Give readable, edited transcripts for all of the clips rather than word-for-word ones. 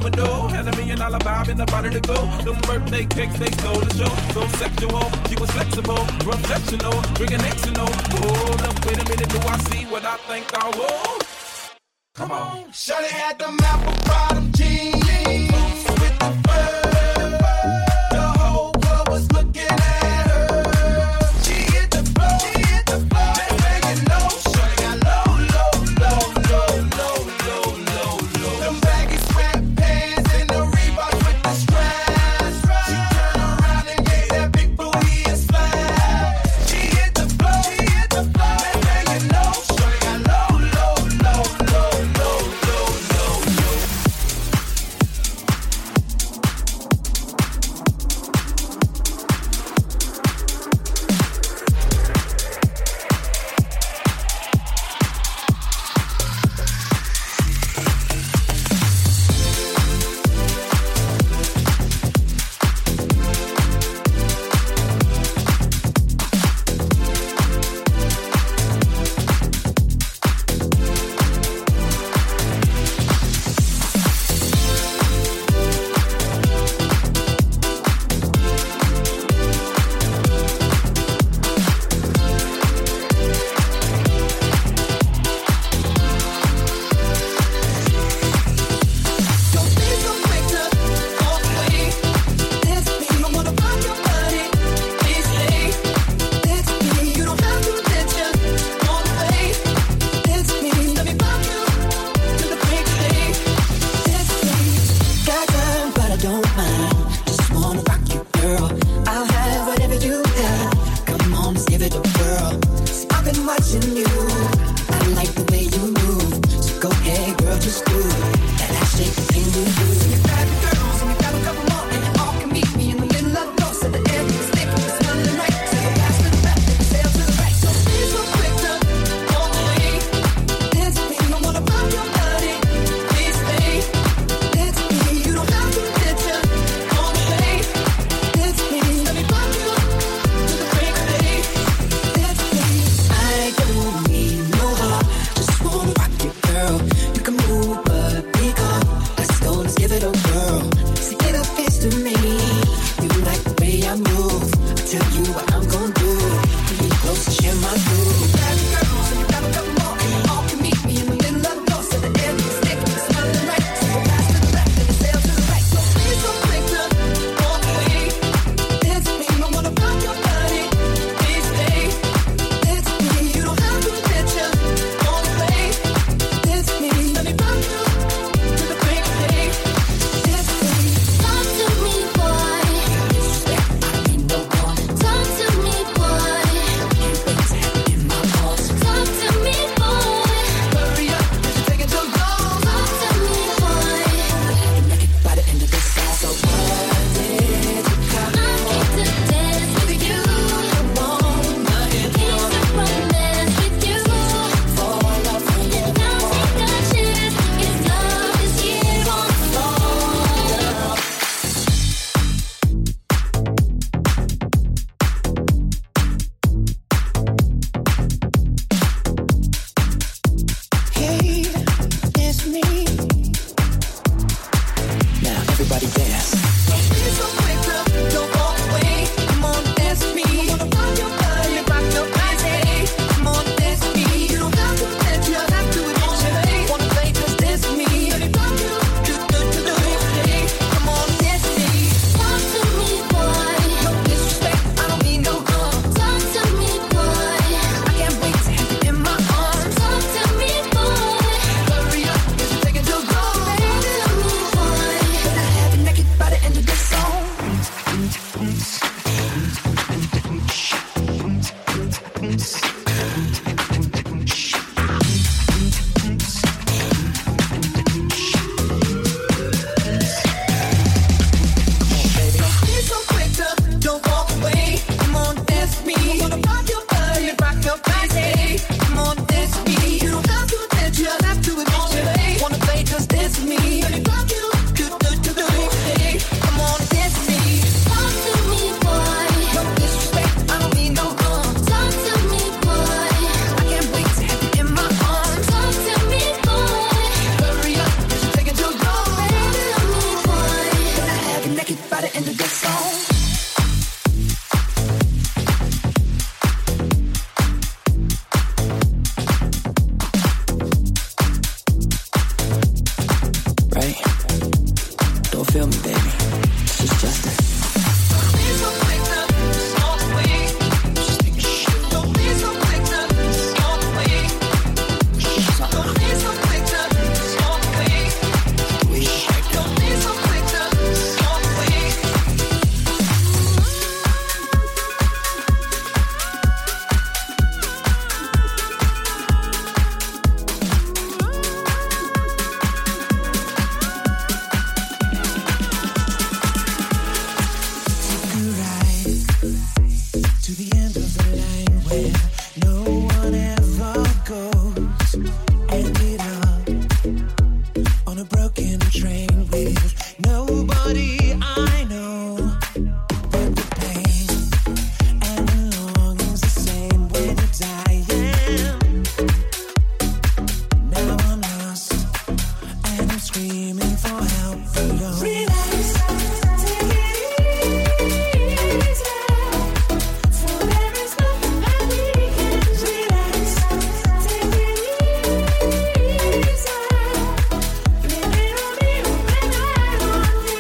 troubadour. Had $1 million vibe in the body to go. Them birthday cakes, they stole the show. So sexual, she was flexible, professional, drinking Xanol. Hold up, wait a minute, do I see what I think I will? Come on. Shawty had them apple bottom jeans with the fur. The whole world was looking at her. She hit the floor, just making low. Shawty got low. Them baggy sweatpants and the Reeboks with the straps. She turned around and gave that big booty a slap. She hit the floor, just making low. Shawty got low. the end of the line where no one ever goes. Ended up on a broken train with nobody I know. But the pain and the longing's the same when you're dying. Now I'm lost and I'm screaming for help alone. Relax, take it easy. For there is nothing that we can relax, take it easy. Blame it on me or blame it on you.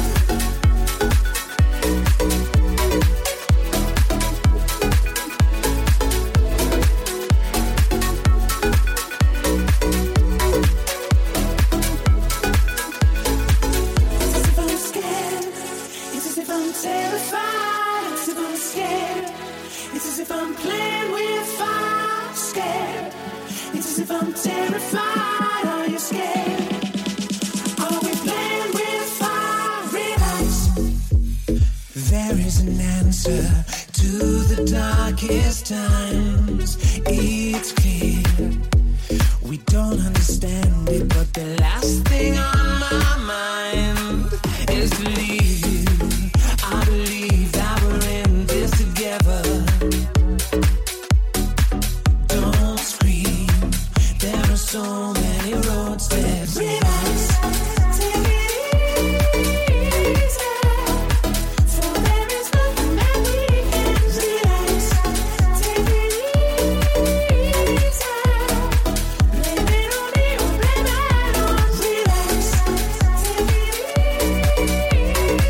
It's as if I'm scared. It's as if I'm terrified. It's as if I'm scared. It's as if I'm playing with fire. Scared. It's as if I'm terrified. Are you scared? Are we playing with fire? Relax. There is an answer to the darkest times. It's clear. We don't understand it, but the last thing on my mind is to leave you. I believe that we're in this together. Don't scream. There are so many roads that relax. Take it easy. For there is nothing that we can relax. Take it easy. Blame it on me or blame it on relax. Take it easy.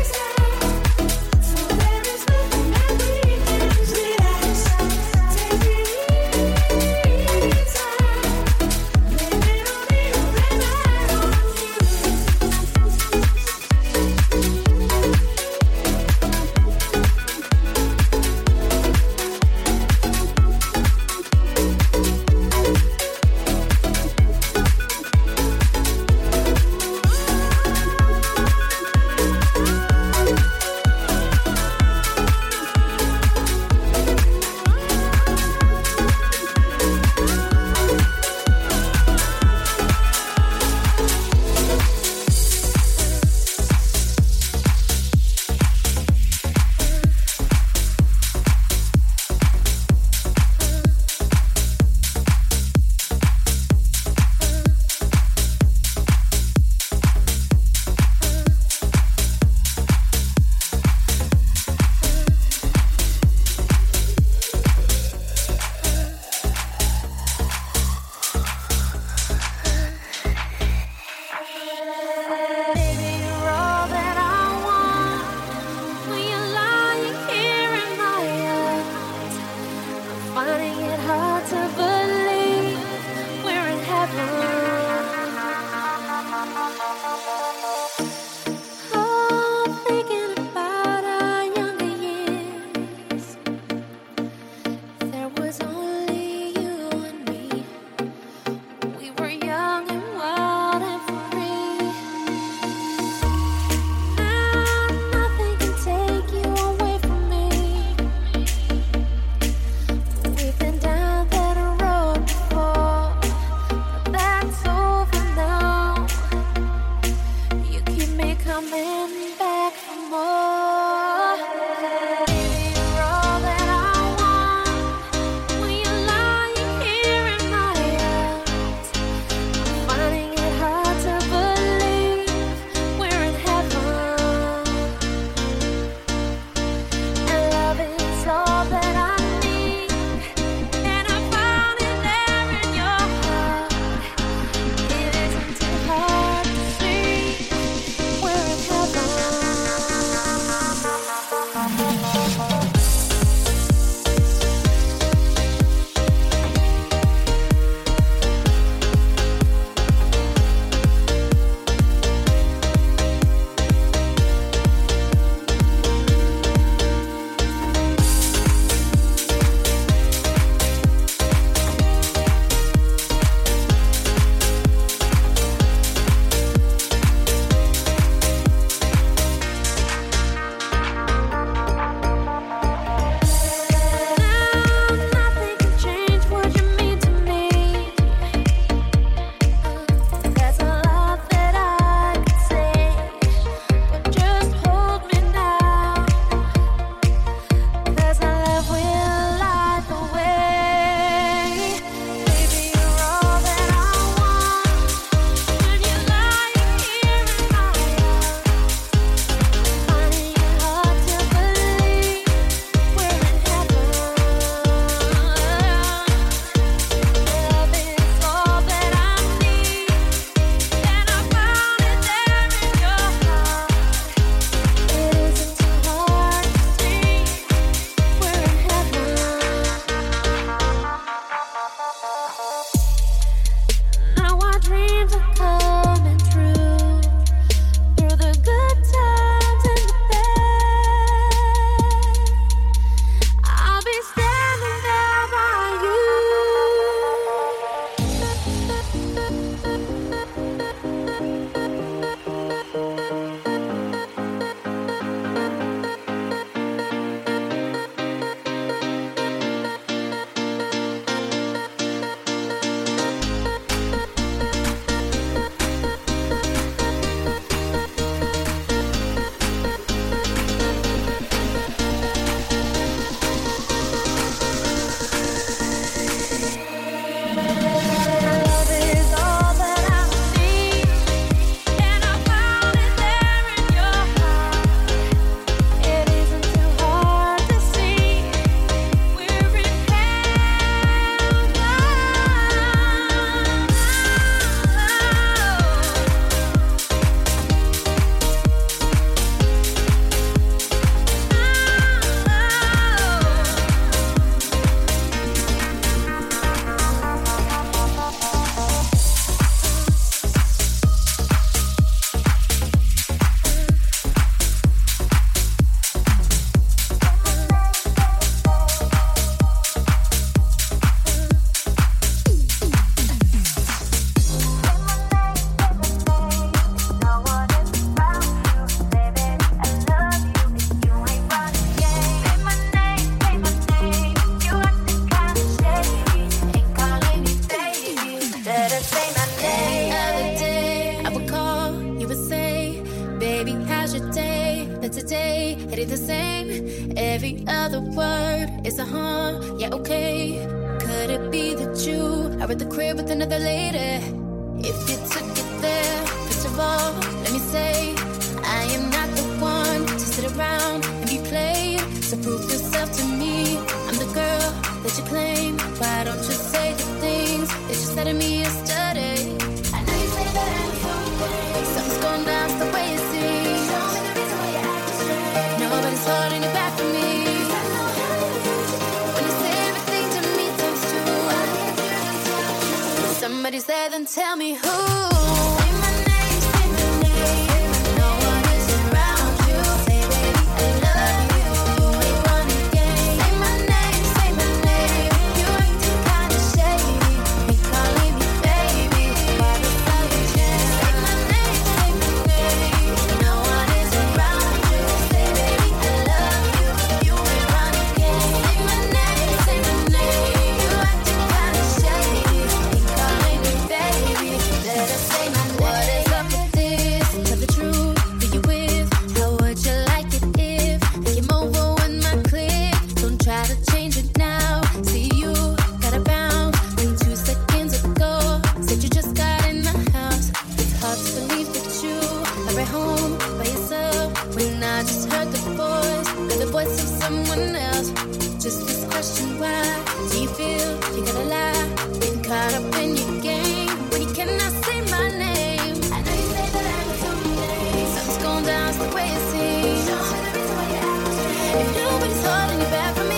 okay? Could it be that you are at the crib with another lady? If you took it there, first of all, let me say I am not the one to sit around and be played. So prove yourself to me. I'm the girl that you claim. Why don't you say the things that you said to me yesterday? I know you say that I'm something. Something's going down the way it seems. Show me the reason why you're acting strange. Nobody's holding it back from me. When you say everything to me times two, I can't hear the sound. Somebody said, then tell me who. Say my name, say my name. No one is around you. Say, baby, I love you. You ain't running game. Say my name, say my name. You acting kinda shady. Me calling me baby. Why the fuck you change? Say my name, say my name. No one is around you. Say, baby, I love you. You ain't running game. Say my name, say my name. You acting kinda shady. Me calling me baby. Let us say my name. What is up with this? Tell the truth. Who you with? How would you like it if I came over with my clique? Don't try to change it now. See you gotta bounce. When 2 seconds ago said you just got in the house. It's hard to believe that you are at home by yourself. When I just heard the voice of someone else. Just this question, why do you feel you gotta lie? Getting caught up in your game when you cannot say my name. I know you say that I'm something. Something's going down, it's the way it seems. Show me the reason why you're acting strange. If nobody's holding you back from me,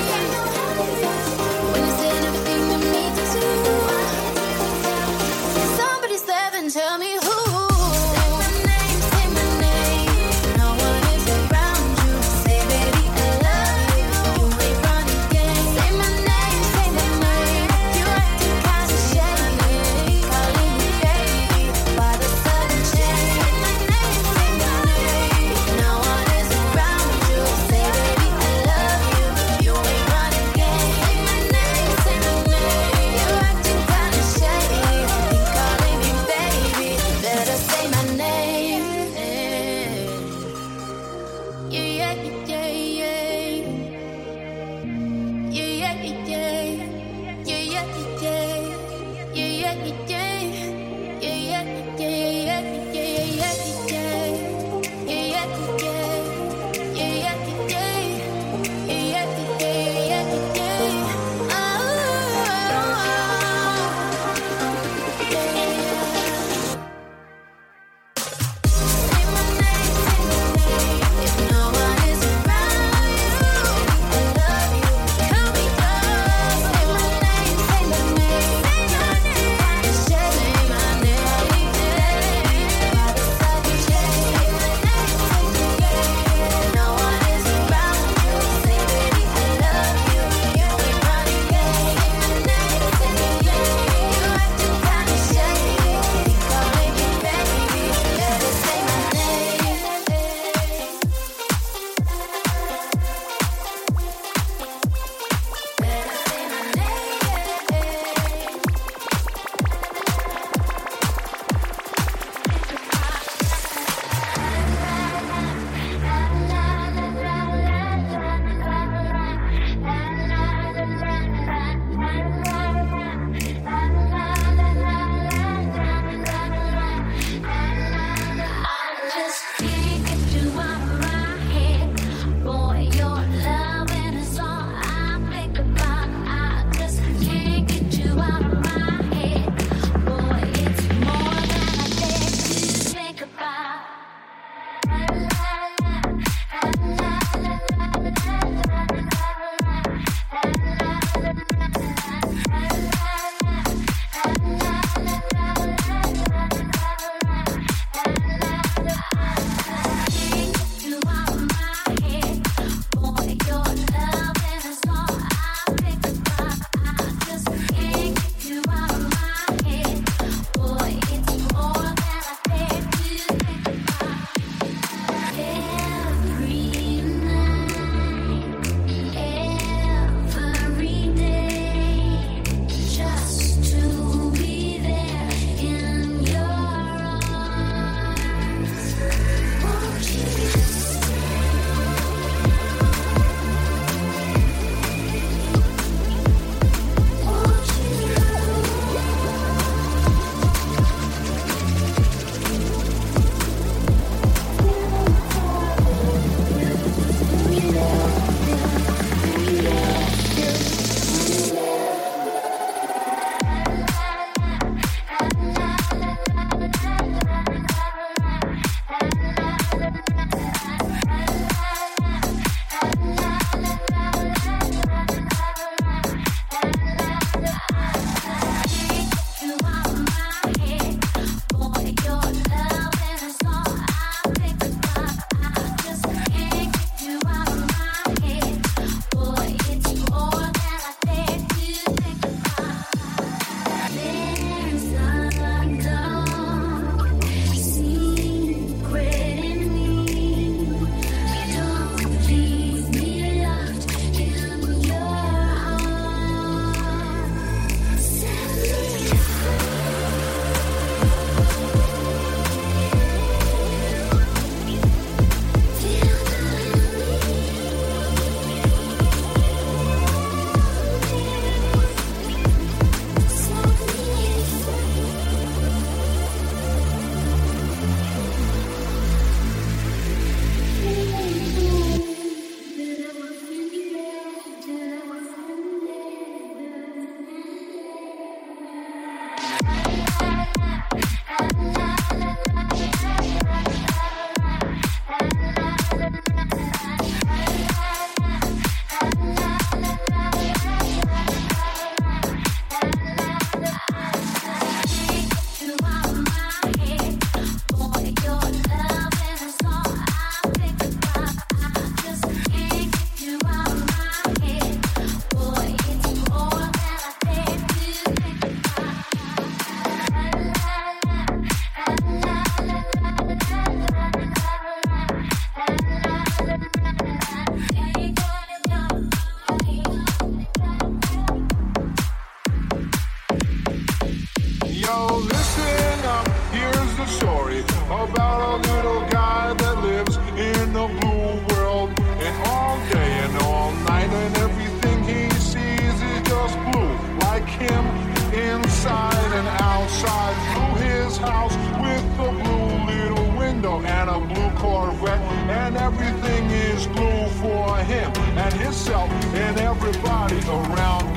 when you said everything to me to do, somebody said, then tell me who. Say my name, say my name. No one is around you. Say, baby, I love you. You ain't running game. Say my name, say my name. You acting kinda shady. Calling me baby. Why the sudden change? Say my name, say my name. No one is around you. Say, baby, I love you. You ain't running game. Say my name, say my name. You acting kinda shady. Calling me baby. Better say my name. Yeah, yeah, yeah, yeah. Yeah, yeah, yeah. Yeah, yeah, yeah. Yeah, yeah, yeah. Yeah, yeah, yeah, yeah, yeah, yeah, yeah. Yeah, yeah, yeah. Yeah, yeah, yeah. Yeah, yeah, yeah, yeah. Oh, yeah. Say my name, say my name. If no one is around you, I love you. Call me up. Say my name, say my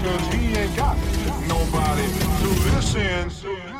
cause he ain't got nobody to listen.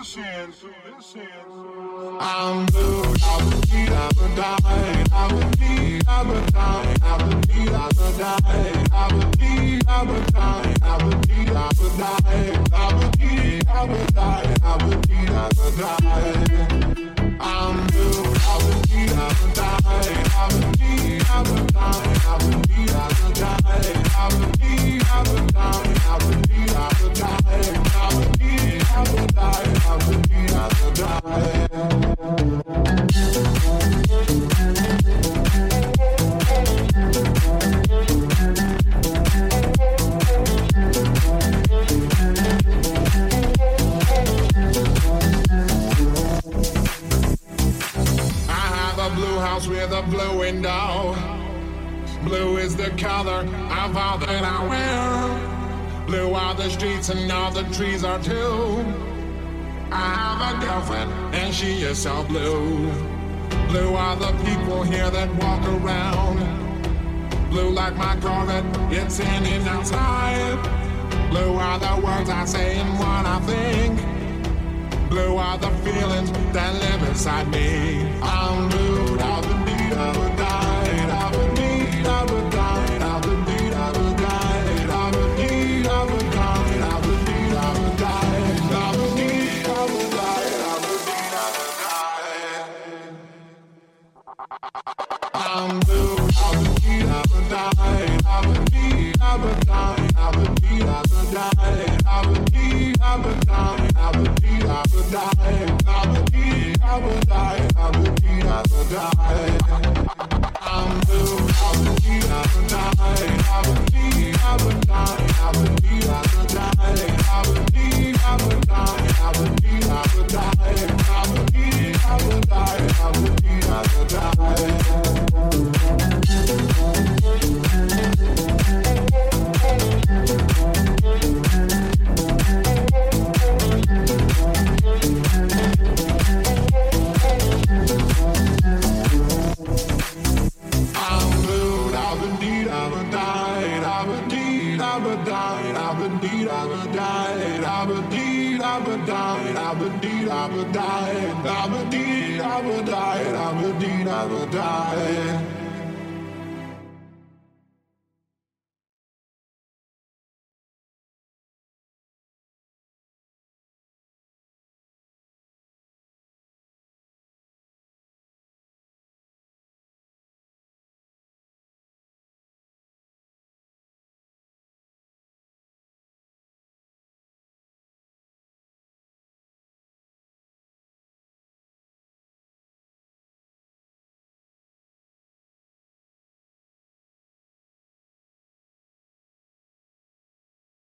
I'm blue, I would need, I would die. I would need, I would die. I would need, I would die. I would need, I would die. I would need, I would die. I would need, I would die. I would need, I would die. I'm blue, I would need, I would die. I would need, I would die. I would need, I would die. I would need, I would die. I would need, I would die. I would need, I would die. I would need, I would die. With a blue window. Blue is the color of all that I wear. Blue are the streets and all the trees are too. I have a girlfriend and she is so blue. Blue are the people here that walk around. Blue like my Corvette, it's in and outside. Blue are the words I say and what I think. Blue are the feelings that live inside me. I'm blue, I would need, I would die. I would need, I would die. I would need, I would die. I would need, I would die. I would need, I would die. I would need, I would die. I would need, I would die. I'm blue, I would need, I would die. I would need, I would die. I would need, I would die. I would need, I would die. I would need, I would die. I would need, I would die. I would need, I would die. I'm blue, I would need, I would die. I would need, I would die. I would need, I would die. I would need, I would die. I would need, I would die. I would need, I would die. I would need, I would die. I would die.